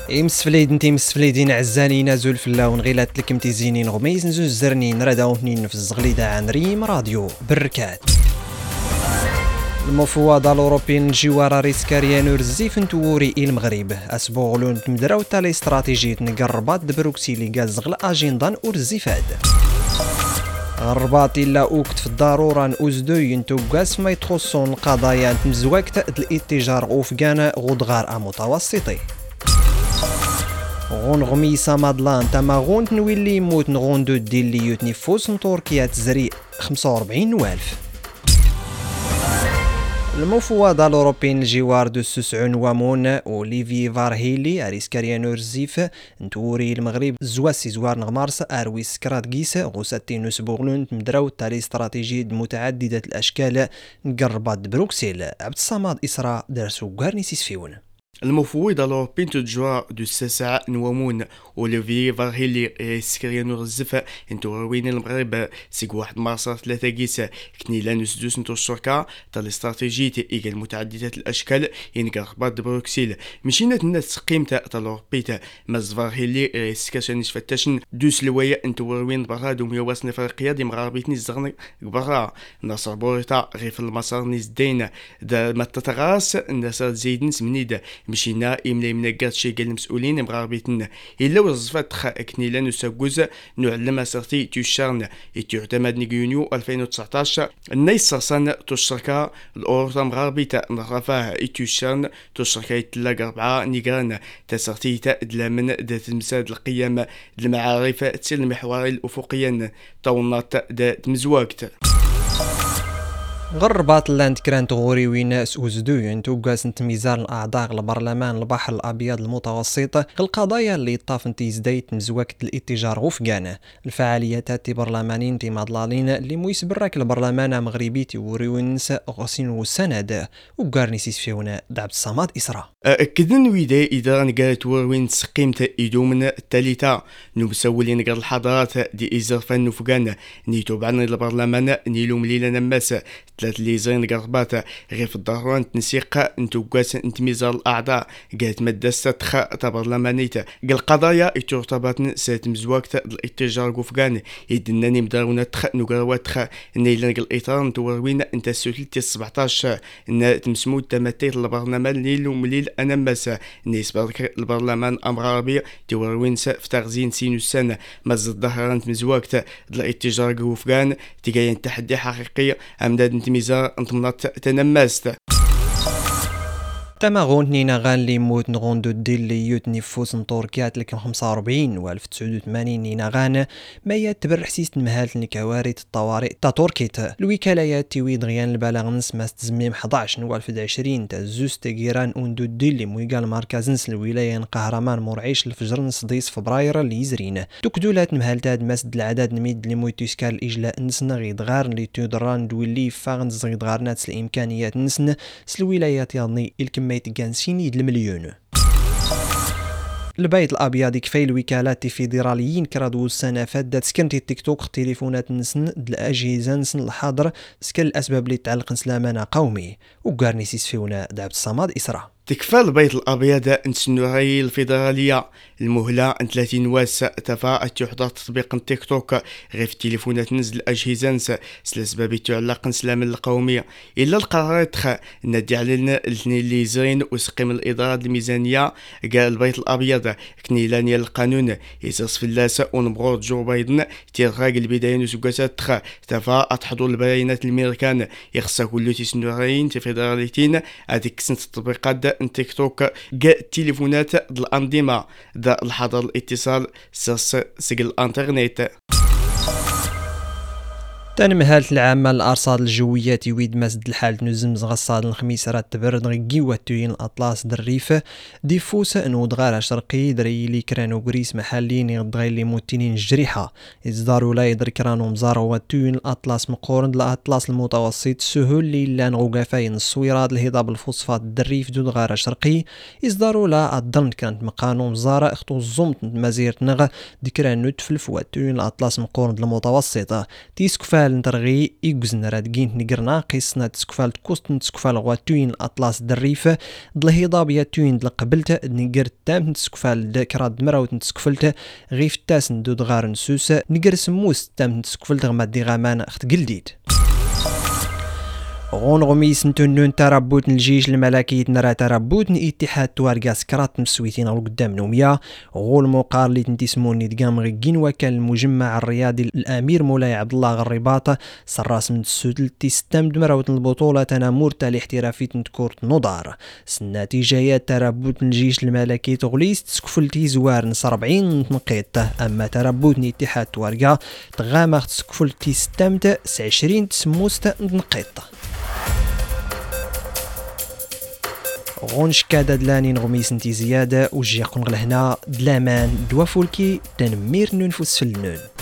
امس فليدين عزاني نازل فلاون غيلات لك متيزينين غميز نزوز زرنين رداونين في الزغليدة عن ريم راديو بركات. المفوضة الأوروبيين الجوار ريسكاريان ورزيف نتوري المغرب أسبوغلون تمدراو تالي استراتيجية نقربات بروكسيلي غاز غل أجندان ورزيفاد الرباط إلا أوكت في الضرورة نوزدوي نتوقاس ما يتخصون القضايا مزواكت الاتجار غوفقانا غدغار متوسطي غون غميسة مادلان تماغون تنويلي يموت نغون دو ديلي يتنفوس تركيا تزري 45,000. المفوضة الأوروبيين الجوار دو السسعون وامون أوليفي فارهيلي أريسكاريان ورزيف نتوري المغرب زواسي زوار نغمارس أرويس كراتكيس غوساتين نسبوغلون تمدراو تالي استراتيجية متعددة الأشكال نقربات بروكسيل عبد الصمد إسراء درسو غارنيسيس فيون. المفوض الأوروبي تجوا دو الساسع نوامون أوليفي فارهيلي ريسكاريان ورزيف انتوروين المغرب سيق واحد مارسة 3 كيس كنيلا نسدوس نتو الشركة تال استراتيجية إيجال متعددة الأشكال ينقربات بروكسيل مشينا الناس قيمة تال أوروبي مز فارهيلي ريسكاريان فتاشن دوس لوايا انتوروين برا دوميا واسن إفريقيا دي مغاربيتني الزغن برا ناصر بوريتا غيف المسار نزدين دا متتغاس ناصر زيدن سمنيد مشينا إملا منقات شي قال المسؤولين مغاربيتنا إلا وظفت كنيلا نساقوز نعلم أسرتي تيشارن يتعتمد نيونيو 2019 الناس صاصان تشركة الأورطة مغاربيتا نغرفاه يتيشارن تشركة يتلاق 4 نيقران تسرتي تأدلامن دات المساد القيام المعارف تسير المحوري الأفقيا طونات دات مزواكت غربات اللاند كرانت غوري ويناس وزدوين توقاس ميزان الأعضاء البرلمان البحر الأبيض المتوسط القضايا اللي طافن تيزدايت مزوكت الاتجار غفقانة الفعاليات برلمانين مضلالين اللي مويس براك البرلمان مغربي توري وينس غسين وسند وقارنيسيس فيونا دعب الصماد إسراء أكدن ويدا إذا نقالت وروين قيمة إدومن التالتة نمسولين نقال الحضارات دي إزرفان نفقان نيتو بعنا البرلمان نيلو مليلا نماس 3 ليزين قربات غير في الضرورة تنسيق نتوقاس انتميزار الأعضاء قالت مادة ستخ تبرلمانيت قال قضايا اترتبط سات مزواكت الاتجار قفقان يدناني مدارونا تخ نقروات تخ نيلان قال إطار نتوروين انت سوتلتي 17 ان تمسمود تماتيت البرلمان نيلو مليل أنماس نسبة البرلمان أمغربي توروين في تغزين سينوسان مزد ظهران مزواكت الاتجار قفقان تقاين تحدي حقيقي أمداد ميزار انتمنات تنماست تماغون نينا غان لي موت نغون دو ديل لي يوتني فوس نطوركيات لكم 45 و 1980 نينا غان ما يتبر حسيس مهالت الكوارث الطوارئ تا توركيت الوكاليات تيوي دغيان البلاغ نسماس تزميم 11 و 2020 تا زوز تيغيران اون دو ديل لي مويقال مركز نس الولاية قهرمان مرعيش الفجر نصديس فبراير اللي يزرين دوكدولات مهالتاد مسد العدد نميد لي مويتوسكال الإجلاء نسنا غيدغار لي تودران دويلي فاغن زغيدغارنات الإمكانيات نسن سلولايات يضني الكم يتقانسيني المليون البيت الابيض كفاي الوكالات الفيدراليين كرادو السنه فادت سكنتي التيك توك تليفونات نسن الاجهزه نسن الحاضر سكن الاسباب اللي تعلق سلامنا قومي وكارنيسيس فيونا دعبت الصماد اسراء تكفى البيت الأبيض نسنوهي الفيدرالية المهلة 30 واس تفا تحضر تطبيق التيك توك غير في التليفونات نزل الأجهزة نس سلاسباب تعلق سلام القومية إلا القرارات ندي علينا الاثنين اللي زين وسقيم الإدارة الميزانية قال البيت الأبيض كنيلانيا القانون يسرس في اللاس ونبغور جو بايدن تيرغاق البداية نسوكاسات تفا تحضر البيانات الميركان يخصا كل تسنوهين تفيدراليتين هذيك سنة التطبيقات تيك توك جاء التليفونات الأنظمة ذا الحظر الاتصال سجل الانترنت تنمهالت العامة الأرصاد الجوية تيويد مسد الحال نزم زغصاد الخميس رات تبرد غيكي واتوين الأطلاس دريف ديفوس نود غارة شرقي دريلي كرانو غريس محلين يغدغيلي موتينين جريحة إصدارو لا يدر كرانو مزارو واتوين الأطلاس مقورن الأطلاس المتوسط سهول لي لان غوغافاين الصويرات الهضاب الفوسفات الدريف دود غارة شرقي إصدارو لا الضمن كانت مقانو مزارة اختو الزمت مزيرت نغ دكرانو تفلف واتوين الأطلاس مقورن المتوسطة تيسكفال تسكفال نترغي يجزن رادقين نقر ناقص تسكفال تكوست تسكفال غواتوين الأطلاس دريف دلهيضا بياتوين دلقبلت نقر تام تسكفال دكراد مراوت تسكفلت غيف تاس ندود غار نسوس نقر سموس تام تسكفلت غمادي غامان اخت قلديد غون غميس نتونون تربوت الجيش الملكي نرى تربوت اتحاد توارقا سكرات مسويتين او قدام نوميا غول موقار اللي تنتسموني دقام غيكين وكان المجمع الرياضي الامير مولاي عبد الله غريباط سراس من السودل تستمد مراوت البطوله تنامور تاع الاحترافي تنتكورت نضار النتيجه تربوت الجيش الملكي تغليس تسكفلتي زوار نص 40 نقيط اما تربوت اتحاد توارقا تغامر تسكفلتي ستمت 20 تسموست نقيط غونش كادا دلاني نغميس نتي زيادة وجي قنغ لهنا دلامان دوافولكي تنمير ننفس في النون.